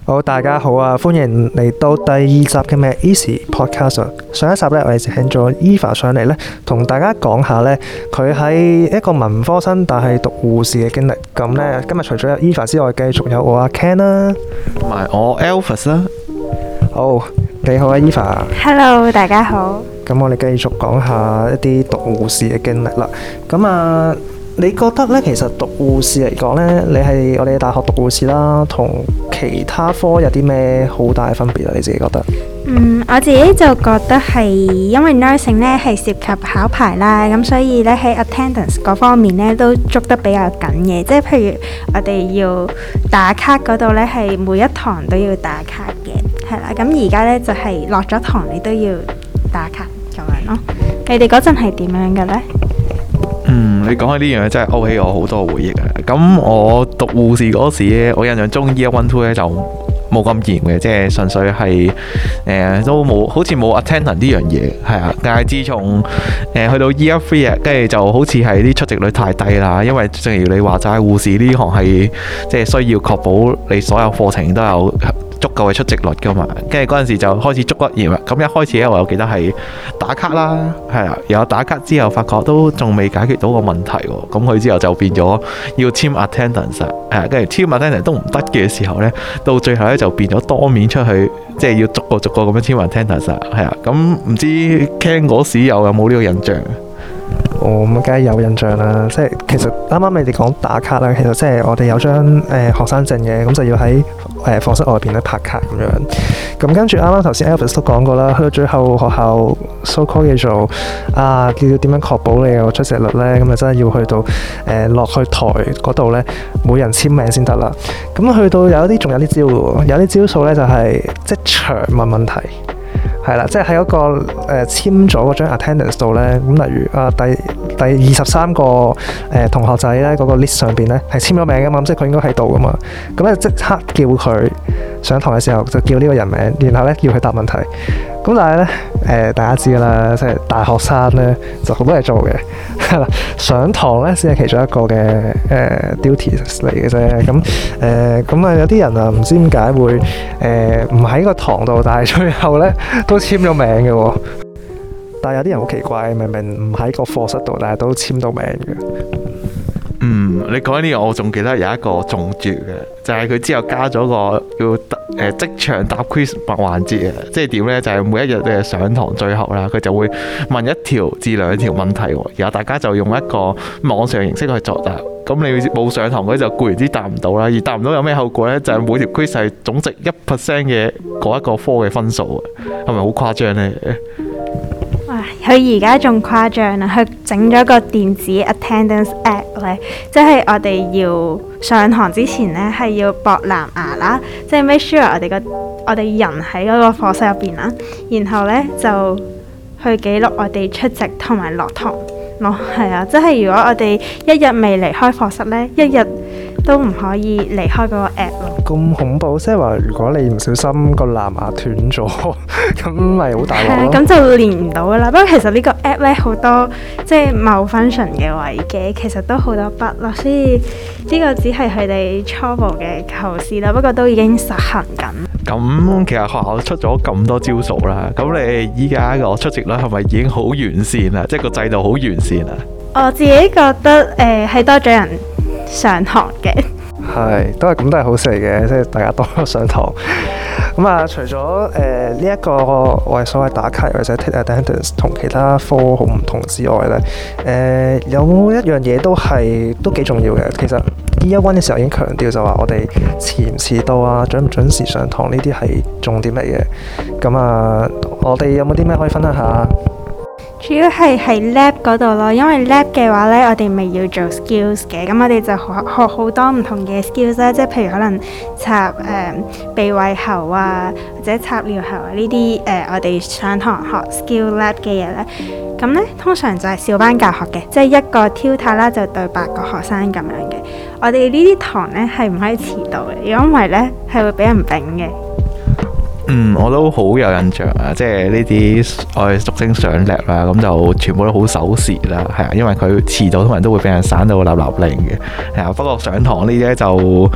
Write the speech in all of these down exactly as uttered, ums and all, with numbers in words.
好，大家好啊！歡迎嚟到第二集嘅 Mad Easy Podcast。上一集咧，我哋請咗 Eva 上嚟咧，同大家講下咧，佢喺一個文科生但係讀護士嘅經歷。咁咧，今日除咗有 Eva 之外，繼續有我阿 Ken 啦， 同埋我 Alvis 啦。 好，你好啊 Eva。 Hello， 大家好。 咁我哋繼續講下一啲讀護士嘅經歷啦。咁啊，你覺得咧，其實讀護士嚟講咧，你係我哋大學讀護士啦，同其他科有啲咩好大嘅分別啊？你自己覺得？ 嗯，我自己就覺得係因為 nursing 咧係涉及考牌啦，咁所以咧喺 attendance 嗰方面咧都捉得比較緊嘅，即係譬如我哋要打卡嗰度咧係每一堂都要打卡嘅，係啦。咁而家咧就係落咗堂你都要打卡咁樣咯。你哋嗰陣係點樣嘅咧？ 嗯，你講起呢樣嘢真係勾起我好多回憶啊！咁我讀護士嗰時咧，我印象中 year one two 咧就冇咁嚴嘅，即係純粹係誒、呃、都冇，好似冇 attendance 呢樣嘢，係啊。但係自從誒、呃、去到 year three 啊，跟住就好似係啲出席率太低啦，因為正如你話齋，護士呢行係即係需要確保你所有課程都有足夠嘅出席率噶嘛，跟住嗰陣時就開始捉得嚴啦。咁一開始咧，我又記得係打卡啦，係啊，有打卡之後發覺都仲未解決到個問題喎。咁佢之後就變咗要簽 attendance，誒，跟住簽 attendance 都唔得嘅時候咧，到最後咧就變咗當面出去，即係要逐個逐個咁樣簽 attendance，係啊。咁唔知 Ken 嗰時又有冇呢個印象？ 我咁梗係有印象啦，即係其實啱啱你哋講打卡啦，其實即係我哋有張誒、呃、學生證嘅，咁就要喺誒課室外邊咧拍卡咁樣。咁跟住啱啱頭先 Alvis 都講過啦，去到最後學校 so call 叫做啊，叫點樣確保你有出席率咧？咁啊真係要去到誒落、呃、去台嗰度咧，每人簽名先得啦。咁去到有啲仲有啲招喎，有啲招數咧就係即場問問題。係啦，即係喺嗰個誒、呃、簽咗嗰張 attendance 度咧，咁例如啊第第二十三個誒、呃、同學仔咧嗰、那個 list 上邊咧係簽咗名噶嘛，咁即係佢應該喺度噶嘛，咁咧即刻叫佢上堂嘅時候就叫呢個人名，然後咧叫佢答問題。咁但係咧誒大家知噶啦，即係大學生咧就好多嘢做嘅，係啦，上堂咧先係其中一個嘅誒、呃、duties 嚟嘅啫。咁誒咁啊有啲人啊唔知點解會誒唔喺個堂度，但係最後咧都簽咗名嘅喎。但係有啲人好奇怪，明明唔喺個課室度，但係都簽到名嘅。 嗯，你講呢個我仲記得有一個中絕嘅，就係、是、佢之後加咗個叫誒、呃、即場答 quiz 環節啊，即係點呢？就係、是、每一日嘅上堂最後啦，佢就會問一條至兩條問題，然後大家就用一個網上形式去作答。咁你冇上堂嗰就固然之答唔到啦，而答唔到有咩後果呢？就係、是、每條 quiz 係總值一 percent 嘅嗰一個科嘅分數啊，係咪好誇張呢？ 哇！佢而家仲誇張啦，佢整咗個電子 attendance app 咧，即係我哋要上堂之前咧係要駁藍牙啦，即係 make sure 我哋個我哋人喺嗰個課室入邊啦，然後咧就去記錄我哋出席同埋落堂咯，係啊，即係如果我哋一日未離開課室咧，一日都唔可以離開嗰個 app 咯。咁恐怖，即係話如果你唔小心個藍牙斷咗，咁咪好大鑊咯。係啊， 咁就連唔到噶啦。不過其實呢個 app 咧好多即係冇 function 嘅位嘅，其實都好多 bug 咯。所以呢個只係佢哋初步嘅構思啦。不過都已經實行緊。 咁其實學校出咗咁多招數啦，咁你依家個出席率係咪已經好完善啦？即係個制度好完善啊？我自己覺得誒係、呃、多咗人上堂嘅。 係，都係咁，都係好事嚟嘅，即係大家多咗上堂。咁啊，除咗誒呢一個我哋所謂打卡或者 take attendance 同其他科好唔同之外咧，誒、呃、有冇一樣嘢都係都幾重要嘅？其實 year one 嘅時候已經強調就話我哋遲唔遲到啊，準唔準時上堂呢啲係重點嚟嘅。咁啊，我哋有冇啲咩可以分享下？ 主要係喺 lab 嗰度咯，因為 lab 嘅話呢，我哋未要做 skills 嘅，咁我哋就學學好多唔同嘅 skills 啦，即係譬如可能插誒、呃、鼻胃喉啊，或者插尿喉啊呢啲誒，我哋上堂學 skill lab 嘅嘢呢。咁呢，通常就係小班教學嘅，即係一個 tutor 啦就對八個學生咁樣嘅。我哋呢啲堂呢係唔可以遲到嘅，如果唔係呢係會俾人丙嘅。 嗯，我都好有印象啊！即係呢啲我哋俗稱上 lab 啦，咁就全部都好守時啦，係啊，因為佢遲到通常都會俾人散到立立令嘅，係啊。不過上堂呢啲咧就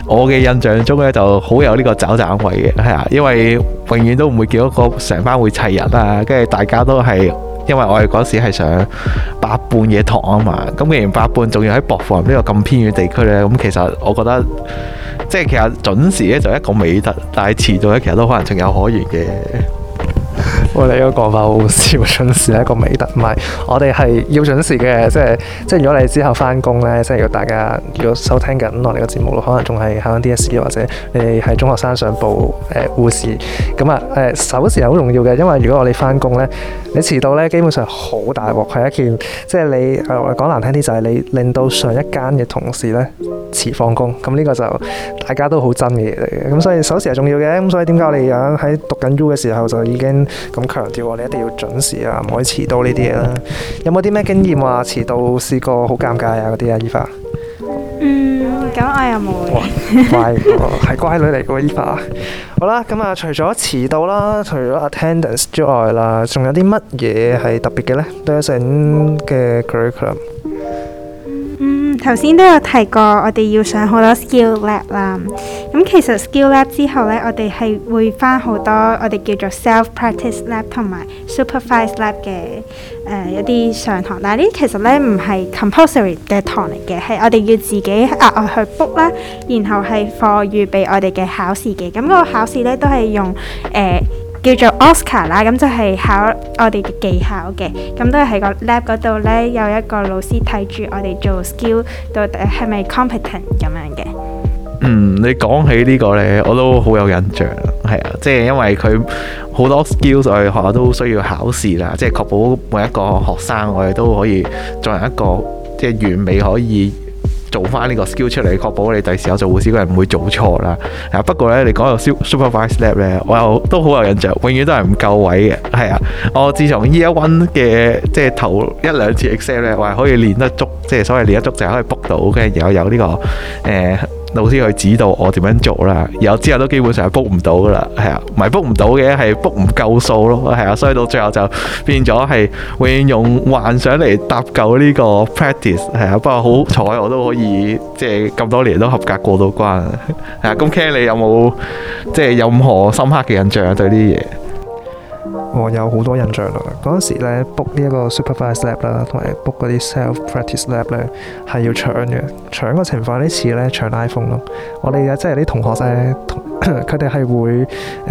我嘅印象中咧就好有呢個找盞位嘅，係啊，因為永遠都唔會見到個成班會齊人啊，跟住大家都係。因為我哋嗰時係上八半嘅堂啊嘛，咁既然八半仲要喺薄扶林呢個咁偏遠地區呢，咁其實我覺得即係其實準時咧就一個美德，但係遲到咧其實都可能情有可原嘅。 我哋呢個講法好好笑，準時係一個美德，唔係我哋係要準時嘅，即係即係如果你之後翻工呢，即係如果大家如果收聽緊我哋嘅節目，可能仲係考緊 D S E 或者你哋係中學生想報誒護士，咁啊誒守時係好重要嘅，因為如果我哋翻工呢，你遲到呢，基本上好大鑊，係一件即係你誒講難聽啲就係你令到上一間嘅同事呢遲放工，咁呢個就大家都好憎嘅嘢嚟嘅，咁所以守時係重要嘅，咁所以點解我哋喺讀緊 U 嘅時候就已經咁強調我哋一定要準時啊，唔可以遲到呢啲嘢啦。有冇啲咩經驗話遲到試過好尷尬啊嗰啲啊？依發嗯，咁我又冇嘅。 乖，係乖女嚟嘅喎依發。好啦，咁啊，除咗遲到啦，除咗 attendance 之外啦，仲有啲乜嘢係特別嘅呢？對成嘅 curriculum。 頭先都有提過，我哋要上好多 skill lab 啦。咁其實 skill lab 之後呢，我哋係會返好多我哋叫做 self practice lab 同埋 supervised lab 嘅誒、呃、一啲上堂。但係呢其實呢唔係 compulsory 嘅堂嚟嘅，係我哋要自己額外去 book 啦，然後係課預備我哋嘅考試嘅。咁、嗰個考試呢都係用誒。呃叫做 Oscar 啦，咁就係考我哋嘅技巧嘅，咁都係喺個 lab 嗰度呢，有一個老師睇住我哋做 skill 到底係咪 competent 咁樣嘅。 嗯，你講起呢個呢，我都好有印象，係啊，即係因為佢好多 skills 我哋學校都需要考試啦，即係確保每一個學生我哋都可以作為一個即係完美可以做翻呢個 skill 出嚟，確保你第時有做護士嗰人唔會做錯啦。啊，不過咧，你講到 supervised lab 咧，我又都好有印象，永遠都係唔夠位嘅。係啊，我自從 year one 嘅即係頭一兩次 exam 咧，我係可以練得足，即係所謂練得足就係可以 book 到嘅，然後有呢、這個誒。呃老師去指導我點樣做啦，然後之後都基本上係 book 唔到噶啦，係啊，唔係 book 唔到嘅，係 book 唔夠數咯，係啊，所以到最後就變咗係永遠用幻想嚟搭救呢個 practice， 係啊，不過好彩我都可以即係咁多年都合格過到關，係啊，咁 Ken 你有冇即係有任何深刻嘅印象啊？對呢啲嘢？ 我有好多印象啦！嗰陣時咧 book 呢一個 supervised lab 啦，同埋 book 嗰啲 self practice lab 咧係要搶嘅，搶嘅情況呢次咧搶 iPhone 咯。我哋即係啲同學咧，佢哋係會誒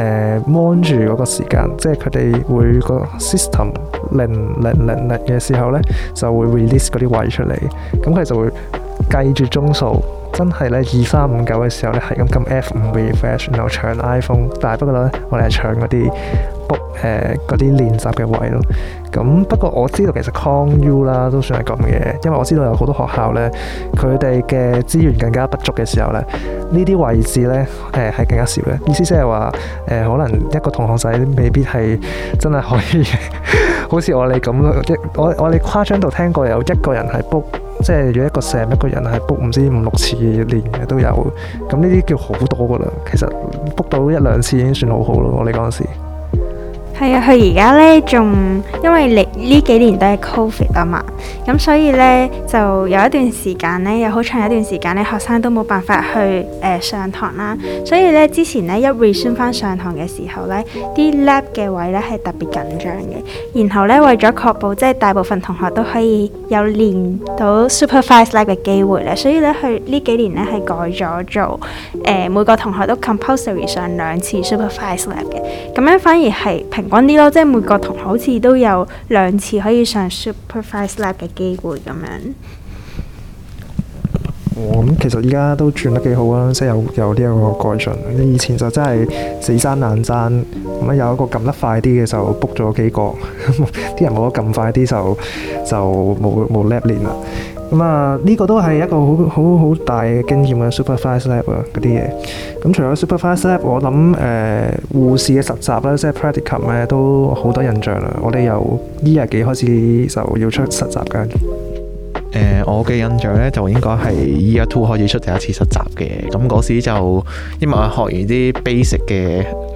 mon 住嗰個時間，即係佢哋會個 system 零零零零嘅時候咧就會 release 嗰啲位出嚟，咁佢就會計住鐘數。真係咧二三五九嘅時候咧係咁撳 F 五 refresh， 然後搶 iPhone， 但係不過咧我哋係搶嗰啲 book 誒嗰啲練習嘅位咯。咁不過我知道其實 Con U 啦都算係咁嘅，因為我知道有好多學校咧佢哋嘅資源更加不足嘅時候咧，呢啲位置咧誒係更加少嘅。意思即係話誒可能一個同學仔未必係真係可以好似我哋咁咯，我我哋誇張到聽過有一個人係 book。即係如果一個 sem 一個人係 book 唔知五六次練嘅都有，咁呢啲叫好多噶啦。其實 book 到一兩次已經算好好咯。我哋嗰陣時係啊，佢而家呢仲因為呢呢幾年都係 Covid 啊嘛，咁所以呢就有一段時間呢，有好長一段時間呢，學生都冇辦法去誒、呃、上堂啦。所以呢，之前呢一 resume 翻上堂嘅時候呢，啲 lab 嘅位呢係特別緊張嘅。然後呢，為咗確保即係大部分同學都可以有練到 supervised lab 嘅機會呢，所以呢，佢呢幾年呢係改咗做誒、呃、每個同學都 compulsory 上兩次 supervised lab 嘅，咁樣反而係平穩啲咯，即係每個同學好似都有兩次可以上 supervised lab 嘅機會咁樣。 哦，咁其實依家都轉得幾好啊，即係有有呢一個改進。你以前就真係死爭難爭，咁啊有一個撳得快啲嘅就 book 咗幾個，啲人冇得撳快啲就就冇冇 lab 練啦。咁啊呢個都係一個好好好大嘅經驗嘅 supervised lab 啊嗰啲嘢。咁除咗 supervised lab，我諗誒、呃、護士嘅實習咧，即係 practicum 咧都好多印象啦。我哋由 year 幾開始就要出實習㗎。 誒、呃，我嘅印象咧就應該係 year two 開始出第一次實習嘅，咁嗰時就因為我學完啲 basic 嘅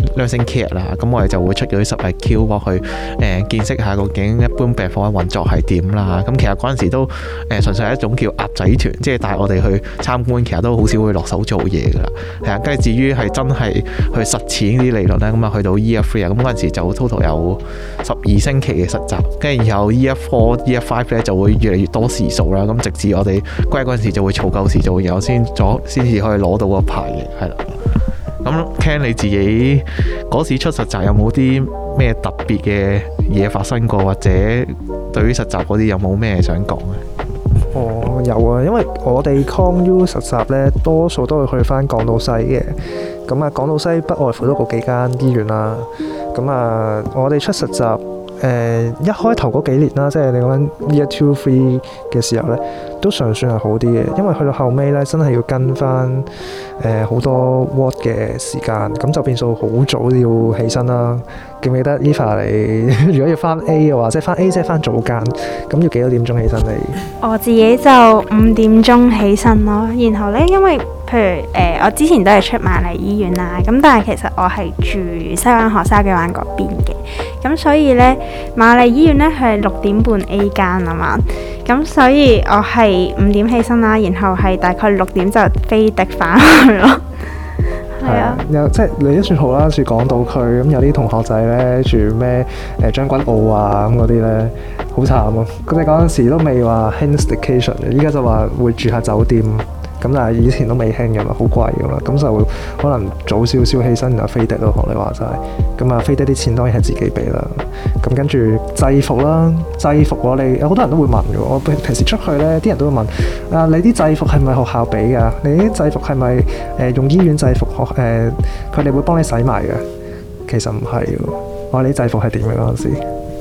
nursing care 啦，咁我哋就會出嗰啲實例 Q 落去誒、呃、見識下究竟一般病房嘅運作係點啦。咁其實嗰陣時都誒、呃、純粹係一種叫鴨仔團，即係帶我哋去參觀，其實都好少會落手做嘢噶啦。係啊，跟住至於係真係去實踐啲理論咧，咁啊去到 Year Three 啊，咁嗰陣時就 total 有十二星期嘅實習，跟住然後 Year Four、Year Five 咧就會越嚟越多時數啦。咁直至我哋歸嗰陣時就會儲夠時做，然後先咗先至可以攞到個牌嘅，係啦。咁 Ken 你自己嗰時出實習有冇啲咩特別嘅嘢發生過，或者對於實習嗰啲有冇咩想講咧？ 哦，有啊，因為我哋 Con U 實習咧，多數都會去翻港島西嘅。咁啊，港島西不外乎都嗰幾間醫院啦。咁啊，我哋出實習。誒、呃、一開頭嗰幾年啦，即係你講緊 Year Two、Three 嘅時候咧，都尚算係好啲嘅，因為去到後尾咧，真係要跟翻誒好多 ward 嘅時間，咁就變數好早要起身啦。記唔記得 Eva 你如果要翻 A 嘅話，即係翻 A 即係翻早間，咁要幾多點鐘起身你？ 我自己就五點鐘起身咯，然後咧，因為譬如誒、呃，我之前都係出瑪麗醫院啦，咁但係其實我係住西灣河筲箕灣嗰邊嘅，咁所以咧瑪麗醫院咧係六點半 A 間啊嘛，咁所以我係五點起身啦，然後係大概六點就飛的翻去咯。係啊， 有即係你都算好啦，住港島區，咁有啲同學仔咧住咩誒將軍澳啊咁嗰啲咧，好慘啊！佢哋嗰陣時都未話興 staycation 嘅，依家就話會住下酒店。咁但係以前都未興嘅嘛，好貴嘅嘛，咁就可能早少少起身然後飛的咯，學你話齋。咁啊飛的啲錢當然係自己俾啦。咁跟住制服啦，制服我哋有好多人都會問嘅。我平時出去咧，啲人都會問啊，你啲制服係咪學校俾㗎？你啲制服係咪誒用醫院制服學誒？佢、呃、哋會幫你洗埋嘅？其實唔係喎，我話你啲制服係點嘅嗰陣時？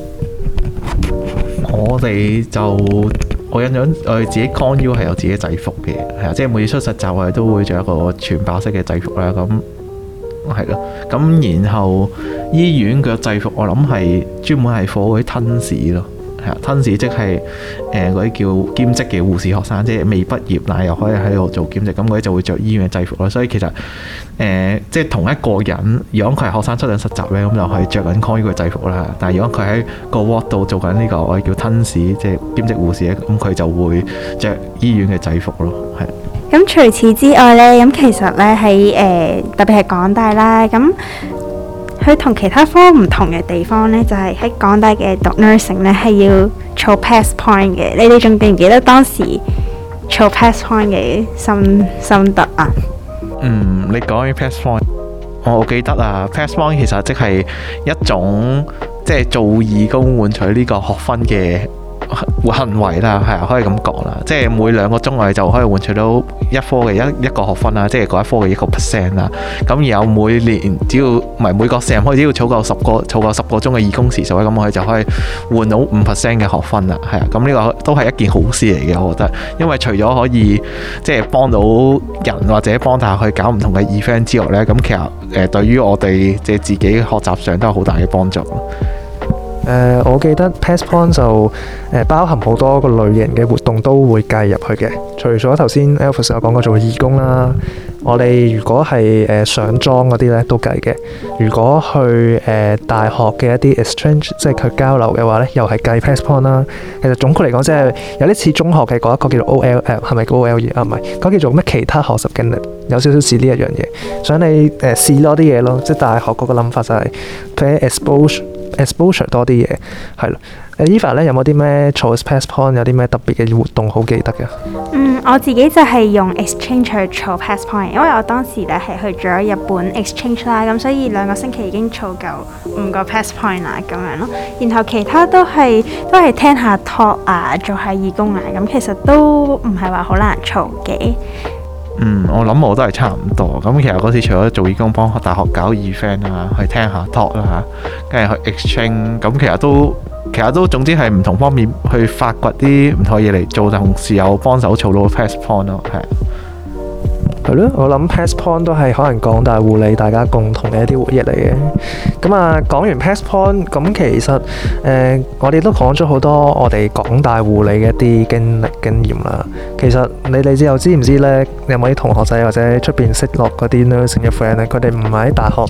我哋就。我印象我哋自己 Con U 係有自己制服嘅，係啊，即係每次出實習我哋都會着一個全白色嘅制服啦，咁係咯，咁然後醫院嘅制服我諗係專門係 for 嗰啲吞士咯，係啊，吞士即係誒嗰啲叫兼職嘅護士學生，即係未畢業但係又可以喺度做兼職，咁嗰啲就會着醫院嘅制服咯，所以其實誒、呃、即係同一個人，如果佢係學生出緊實習咧，咁就係着緊 Con U 嘅制服啦。但係如果佢喺個 ward 度做緊呢個我哋叫吞士，即係兼職護士咧，咁佢就會着醫院嘅制服咯，係。 咁除此之外咧，咁其實咧喺誒特別係港大啦，咁佢同其他科唔同嘅地方咧，就係、是、喺港大嘅讀 nursing 咧係要儲 pass point 嘅。你哋仲記唔記得當時儲 pass point 嘅心心得啊？ 嗯，你講起 pass point，我記得啊 pass point 其實即係一種即係做義工換取呢個學分嘅行為啦，係啊，可以咁講啦，即係每兩個鐘我哋就可以換取到一科嘅一一個學分啦，即係嗰一科嘅一個 percent 啦。咁然後每年只要唔係每個 sem 可以只要儲夠十個儲夠十個鐘嘅義工時數咧，咁我哋就可以換到五 percent 嘅學分啦。係啊，咁呢個都係一件好事嚟嘅，我覺得，因為除咗可以即係幫到人或者幫大家去搞唔同嘅 event 之外咧，咁其實誒、呃、對於我哋即係自己學習上都有好大嘅幫助。 誒、呃，我記得 pass point 就誒、呃、包含好多個類型嘅活動都會計入去嘅。除咗頭先 Alvis 有講過做義工啦，我哋如果係誒、呃、上莊嗰啲咧都計嘅。如果去誒、呃、大學嘅一啲 exchange，即係佢交流嘅話咧，又係計 pass point 啦。其實總括嚟講，即係有啲似中學嘅嗰一個叫做 O L L， 係咪 O L E 啊？唔係，嗰、那個、叫做咩其他學習經歷，有少少似呢一樣嘢。想你誒、呃、試多啲嘢咯，即係大學嗰個諗法就係俾 exposure。exposure 多啲嘢，係咯。Eva 咧有冇啲咩儲 pass point 有啲咩特別嘅活動好記得嘅？ 嗯，我自己就係用 exchange 去儲 pass point，因為我當時咧係去咗日本 exchange 啦，咁所以兩個星期已經儲夠五個 pass point 啦，咁樣咯。然後其他都係都係聽下 talk 啊，做下義工啊，咁其實都唔係話好難儲嘅。 嗯，我諗我都係差唔多。咁其實嗰次除咗做義工幫大學搞 event 啊，去聽下 talk 啦，跟住去 exchange，咁其實都其實都總之係唔同方面去發掘啲唔同嘢嚟做，同時又幫手儲到 pass point 咯，係。 係咯，我諗 pass point 都係可能港大護理大家共同嘅一啲回憶嚟嘅。咁啊，講完 pass point，咁其實誒、呃、我哋都講咗好多我哋港大護理嘅一啲經歷經驗啦。其實你哋之後知唔知咧？有冇啲同學仔或者出邊識落嗰啲 nursing 嘅 friend 咧？佢哋唔係喺大學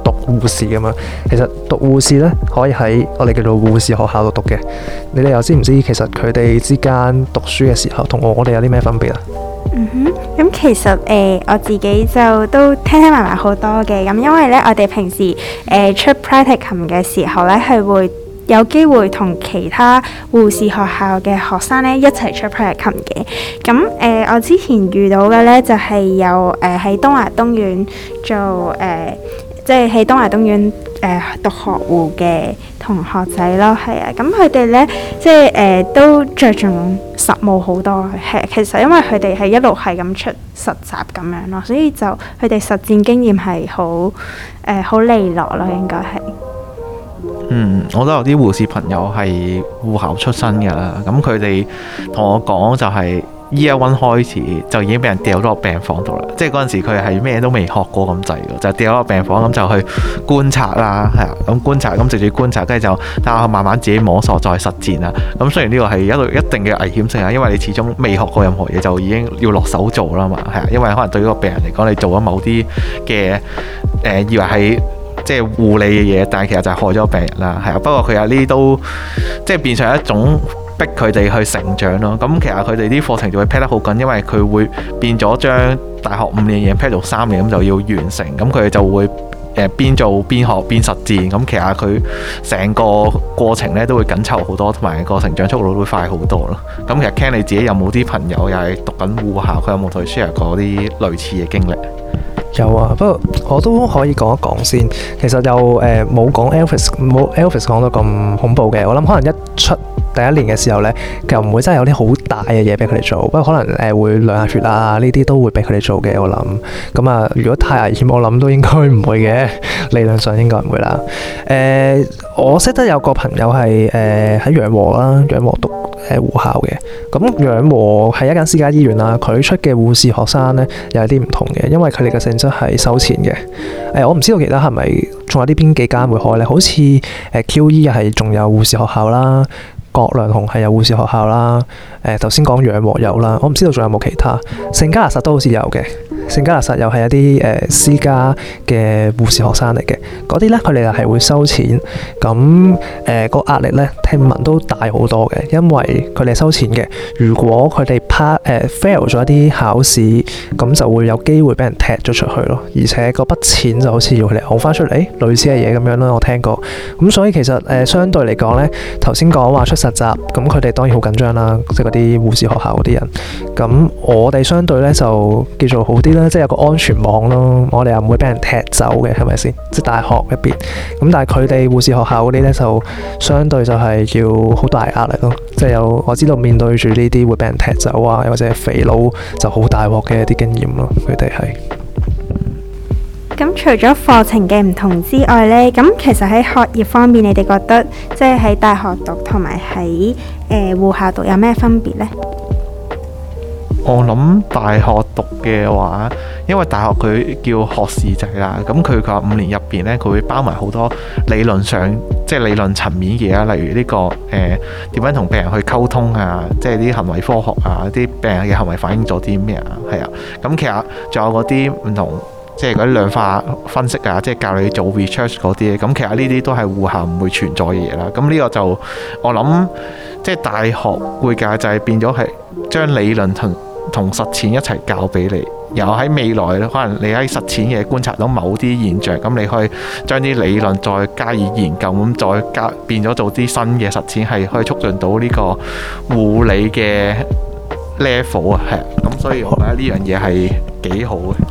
讀護士㗎嘛。其實讀護士咧可以喺我哋叫做護士學校度讀嘅。你哋又知唔知其實佢哋之間讀書嘅時候同我哋有啲咩分別啊？ 嗯哼，咁其實誒、呃、我自己就都聽聽埋埋好多嘅，咁因為咧我哋平時誒、呃、出 practicum 嘅時候咧係會有機會同其他護士學校嘅學生咧一齊出 practicum 嘅，咁誒、呃、我之前遇到嘅咧就係、是、有誒喺、呃、東華東院做誒。呃即係喺東華東院誒、呃、讀學護嘅同學仔咯，係啊，咁佢哋咧即係誒、呃、都着重實務好多，係其實因為佢哋係一路係咁出實習咁樣咯，所以就佢哋實戰經驗係好誒好利落咯，應該係。 嗯，我都有啲護士朋友係護校出身㗎啦，咁佢哋同我講就係、是。Year One 開始就已經俾人掉咗落病房度啦，即係嗰陣時佢係咩都未學過咁滯嘅，就掉咗落病房咁就去觀察啦，係啊，咁觀察咁直接觀察，跟住就但係慢慢自己摸索再實踐啦。咁雖然呢個係一路一定嘅危險性啊，因為你始終未學過任何嘢就已經要落手做啦嘛，係啊，因為可能對於個病人嚟講，你做咗某啲嘅誒以為係即係護理嘅嘢，但係其實就係害咗病人啦，係啊。不過佢有呢啲都即係變成一種。逼佢哋去成長咯，咁其實佢哋啲課程就會 pack 得好緊，因為佢會變咗將大學五年嘢 pack 到三年，咁就要完成，咁佢哋就會誒邊做邊學邊實戰，咁其實佢成個過程咧都會緊湊好多，同埋個成長速度都會快好多咯。咁其實 Ken 你自己有冇啲朋友又係讀緊護校，佢有冇同佢 share 過啲類似嘅經歷？ 有啊，不過我都可以講一講先。其實又誒冇講 Elvis 冇 Elvis 講到咁恐怖嘅。我諗可能一出第一年嘅時候呢，就唔會真係有啲好大嘅嘢俾佢哋做。不過可能誒、呃、會量下血啊，呢啲都會俾佢哋做嘅。我諗咁啊，如果太危險，我諗都應該唔會嘅。理論上應該唔會啦。誒、呃，我識得有個朋友係誒喺養和啦，養和讀誒護校嘅。咁養和係一間私家醫院啦，佢出嘅護士學生呢，又有啲唔同嘅，因為佢哋嘅性質係收錢嘅。誒、呃，我唔知道其他係咪仲有啲邊幾間會開呢？好似誒 Q E 係仲有護士學校啦，葛量洪係有護士學校啦。誒頭先講養和有啦，我唔知道仲有冇其他。聖嘉勒實都好似有嘅。聖嘉勒實又係一啲誒、呃、私家嘅護士學生嚟嘅，嗰啲咧佢哋又係會收錢，咁誒個壓力咧聽聞都大好多嘅，因為佢哋收錢嘅，如果佢哋 pass 誒 fail 咗一啲考試，咁就會有機會俾人踢咗出去咯，而且嗰筆錢就好似要佢哋嘔翻出嚟，類似嘅嘢咁樣啦，我聽過。咁所以其實誒、呃、相對嚟講咧，頭先講話出實習，咁佢哋當然好緊張啦，即係嗰啲護士學校嗰啲人。咁我哋相對咧就叫做好啲啦。即係有個安全網咯，我哋又唔會俾人踢走嘅，係咪先？即係大學入邊，咁但係佢哋護士學校嗰啲咧，就相對就係要好大壓力咯。即係有我知道面對住呢啲會俾人踢走啊，又或者係肥佬就好大鑊嘅一啲經驗咯。佢哋係。 咁除咗課程嘅唔同之外呢，咁其實喺學業方面，你哋覺得即係喺大學讀同埋喺誒護校讀有咩分別呢？ 我諗大學讀嘅話，因為大學佢叫學士制啦，咁佢佢話五年入邊呢，佢會包埋好多理論上即係理論層面嘅嘢，例如呢、呢個誒點樣同病人去溝通啊，即係啲行為科學啊，啲病人嘅行為反映咗啲咩啊，係啊，咁其實仲有嗰啲唔同。即係嗰啲量化分析啊，即係教你做 research 嗰啲，咁其實呢啲都係護校唔會存在嘅嘢啦。咁呢個就我諗，即係大學會教就係變咗係將理論同同實踐一齊教俾你，然後喺未來可能你喺實踐嘅觀察到某啲現象，咁你可以將啲理論再加以研究，咁再加變咗做啲新嘅實踐，係可以促進到呢個護理嘅 level 啊，係咁，所以我覺得呢樣嘢係幾好嘅。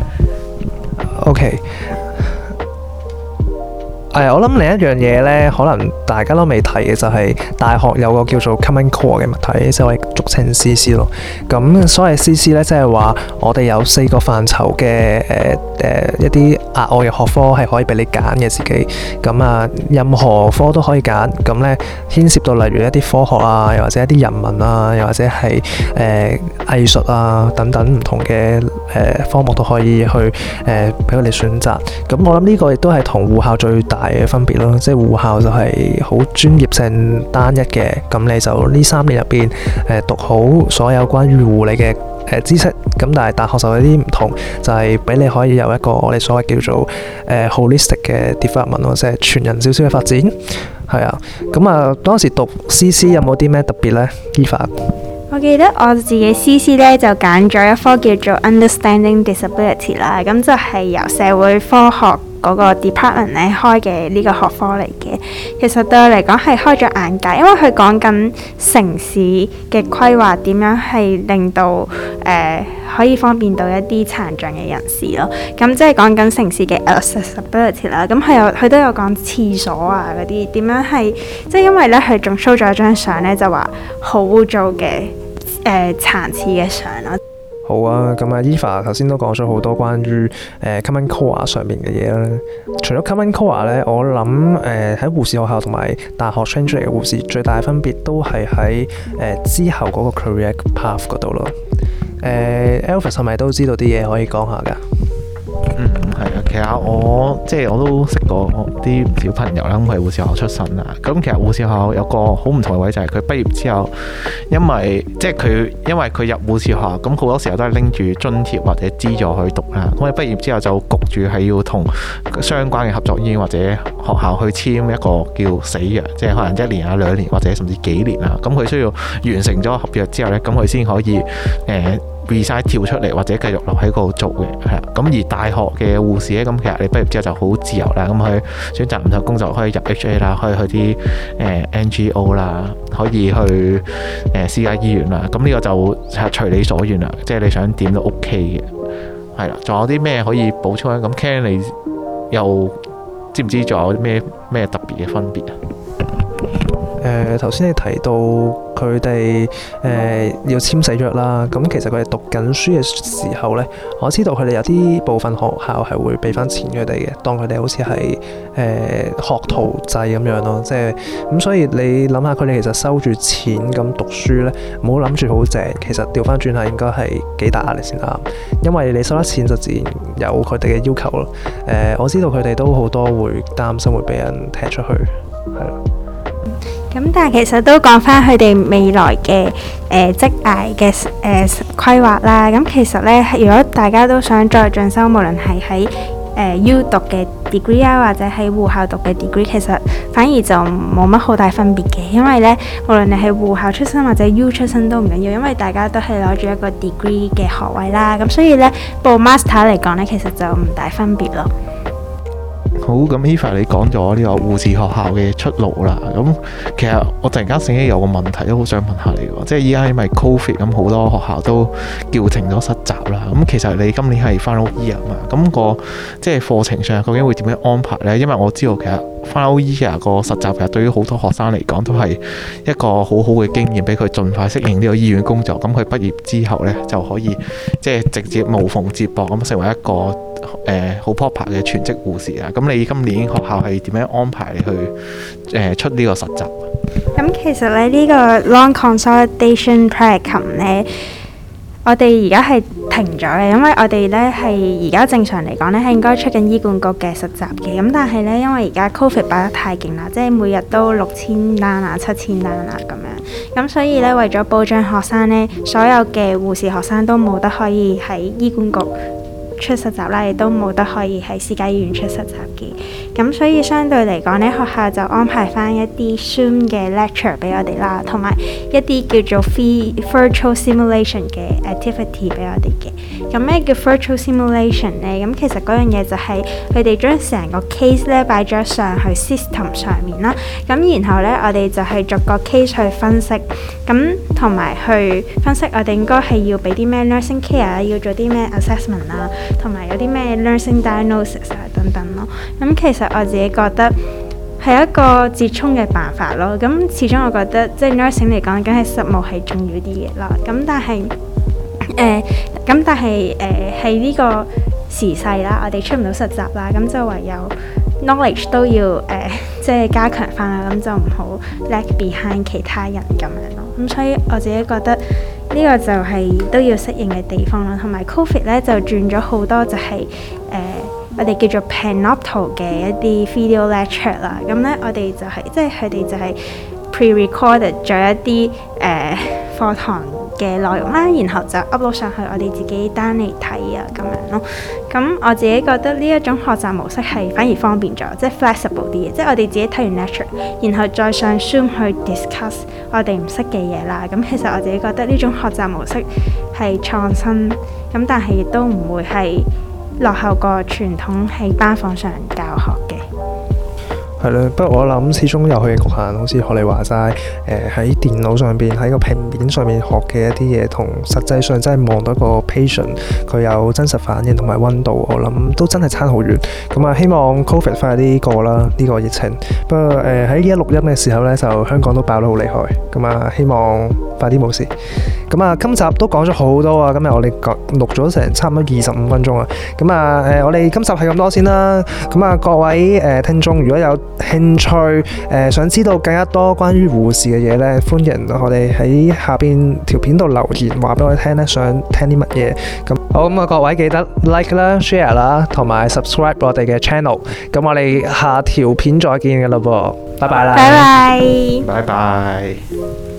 OK，誒，我諗另一樣嘢咧，可能大家都未提嘅就係大學有個叫做 Common Core 嘅物體，即係我哋俗稱 C C 咯。咁所謂 C C 咧，即係話我哋有四個範疇嘅誒誒一啲額外嘅學科係可以俾你揀嘅自己。咁啊，任何科都可以揀。咁咧牽涉到例如一啲科學啊，又或者一啲人文啊，又或者係誒藝術啊等等唔同嘅誒、呃、科目都可以去誒俾佢哋選擇。咁我諗呢個亦都係同護校最大嘅分別咯，即係護校就係好專業性單一嘅，咁你就呢三年入邊誒讀好所有關於護理嘅誒知識，咁但係大學就有啲唔同，就係、是、俾你可以有一個我哋所謂叫做誒、呃、holistic 嘅 development 咯，即係全人少少嘅發展。係啊，咁啊當時讀 C C 有冇啲咩特別呢？Eva？ 我記得我自己 C C 咧就揀咗一科叫做 Understanding Disability 啦，咁就係由社會科學嗰個 department 咧開嘅呢個學科嚟嘅。其實對我嚟講係開咗眼界，因為佢講緊城市嘅規劃點樣係令到誒、呃、可以方便到一啲殘障嘅人士咯。咁即係講緊城市嘅 accessibility 啦。咁佢有佢都有講廁所啊嗰啲點樣係，即係因為咧佢仲 show 咗一張相咧，就話好污糟嘅。誒、呃、殘廁嘅相咯。 好啊，咁啊，Eva 頭先都講咗好多關於誒、呃、Common Core 上面嘅嘢啦。除咗 Common Core 咧，我諗誒喺護士學校同埋大學 train 出嚟嘅護士最大嘅分別都係喺誒之後嗰個 career path 嗰度咯。誒、呃、Elvis 係咪都知道啲嘢可以講下㗎？ 嗯，係啊，其實我即係我都識過啲小朋友啦，咁佢係護士學校出身啦。咁其實護士學校有個好唔同嘅位就係佢畢業之後，因為即係佢因為佢入護士學校，咁好多時候都係拎住津貼或者資助去讀啦。咁佢畢業之後就焗住係要同相關嘅合作醫院或者學校去簽一個叫死約，即係可能一年啊、兩年或者甚至幾年啊。咁佢需要完成咗合約之後呢，咁佢先可以誒。呃 resign 跳出嚟或者繼續留喺嗰度做嘅，係啦。咁而大學嘅護士咧，咁其實你畢業之後就好自由啦。咁佢選擇唔同工作，可以入 H A 啦，可以去啲誒、呃、N G O 啦，可以去誒、呃、私家醫院啦。咁呢個就係隨你所願啦，即係你想點都 OK 嘅，係啦。仲有啲咩可以補充咧？咁 Ken 你又知唔知仲有啲咩咩特別嘅分別啊？ 誒頭先你提到佢哋誒要簽死約啦，咁其實佢哋讀緊書嘅時候呢，我知道佢哋有啲部分學校係會俾翻錢佢哋嘅，當佢哋好似係誒學徒制咁樣咯，即係咁，所以你諗下佢哋其實收住錢咁讀書呢，唔好諗住好正，其實調翻轉係應該係幾大壓力先啱，因為你收得錢就自然有佢哋嘅要求咯。誒、呃、我知道佢哋都好多會擔心會俾人踢出去，係咯。 咁但係其實都講翻佢哋未來嘅誒職涯嘅誒規劃啦。咁其實咧，如果大家都想再進修，無論係喺誒 U 讀嘅 degree 啊，或者喺護校讀嘅 degree， 其實反而就冇乜好大分別嘅。因為咧，無論你係護校出身或者 U 出身都唔緊要，因為大家都係攞住一個 degree 嘅學位啦。咁所以咧，報 master 嚟講咧，其實就唔大分別咯。 好，咁 Eva 你講咗呢個護士學校嘅出路啦。咁其實我突然間醒起有個問題都好想問下你喎，即係依家因為 Covid 咁好多學校都叫停咗實習啦。咁其實你今年係 final year 嘛？咁個即係課程上究竟會點樣安排呢？因為我知道其實 final year 個實習其實對於好多學生嚟講都係一個好好嘅經驗，俾佢盡快適應呢個醫院工作。咁佢畢業之後呢，就可以即係直接無縫接駁咁成為一個誒好 proper 嘅全職護士啊。咁你今年學校係點樣安排你去誒、呃、出呢個實習？ 咁其實咧呢、這個 long consolidation practicum 咧，我哋而家係停咗嘅，因為我哋咧係而家正常嚟講咧係應該出緊醫管局嘅實習嘅，咁但係咧因為而家 Covid 爆得太勁啦，即係每日都六千單啊、七千單啊咁樣，咁所以咧為咗保障學生咧，所有嘅護士學生都冇得可以喺醫管局出實習啦，亦都冇得可以喺私家醫院出實習嘅，咁所以相對嚟講呢，學校就安排翻一啲 Zoom 嘅 lecture 俾我哋啦，同埋一啲叫做 virtual simulation 嘅 activity 俾我哋嘅。咁咩叫 virtual simulation 呢？咁其實嗰樣嘢就係佢哋將成個 case 咧擺咗上去 system 上面啦，咁然後呢，我哋就係逐個 case 去分析，咁同埋去分析我哋應該係要俾啲咩 nursing care， 要做啲咩 assessment 啦。同埋有啲咩 nursing diagnosis 啊等等咯，咁其實我自己覺得係一個折衷嘅辦法咯。咁始終我覺得即係 nursing 嚟講，梗係實務係重要啲嘢啦。咁但係誒，咁但係誒係呢個時勢啦，我哋出唔到實習啦，咁就唯有 knowledge 都要誒、呃、即係加強翻啦，咁就唔好 lag behind 其他人咁樣咯。咁所以我自己覺得呢個就係都要適應嘅地方啦，同埋 Covid 咧就轉咗好多就係、是、誒、呃、我哋叫做 Panopto 嘅一啲 video lecture 啦。咁咧我哋就係、是、即係佢哋就係 pre-recorded 咗一啲誒課堂嘅內容啦，然後就 upload 上去我哋自己 down 嚟睇啊咁樣咯。咁我自己覺得呢一種學習模式係反而方便咗，即係 flexible 啲嘅，即係我哋自己睇完 lecture，然後再上 Zoom 去 discuss 我哋唔識嘅嘢啦。咁其實我自己覺得呢種學習模式係創新，咁但係亦都唔會係落後過傳統喺班房上教學嘅。 係咯，不過我諗始終有佢嘅局限，好似學你話齋，誒、呃、喺電腦上邊喺個平面上面學嘅一啲嘢，同實際上真係望到一個 patient 佢有真實反應同埋溫度，我諗都真係差好遠。咁啊，希望 Covid 快啲過啦，呢、這個疫情。不過誒喺呢一錄音嘅時候呢，就香港都爆得好厲害。咁啊，希望快啲冇事。咁啊，今集都講咗好多啊，今日我哋講錄咗成差唔多二十五分鐘啊。咁啊，誒我哋今集係咁多先啦。咁啊，各位誒、呃、聽眾，如果有興趣誒、呃、想知道更加多關於護士嘅嘢咧，歡迎我哋喺下邊條片度留言話俾我哋聽咧，想聽啲乜嘢。咁好，咁啊，各位記得 like 啦、share 啦，同埋 subscribe 我哋嘅 channel。咁我哋下條片再見㗎啦噃，拜拜啦， 拜拜， 拜拜。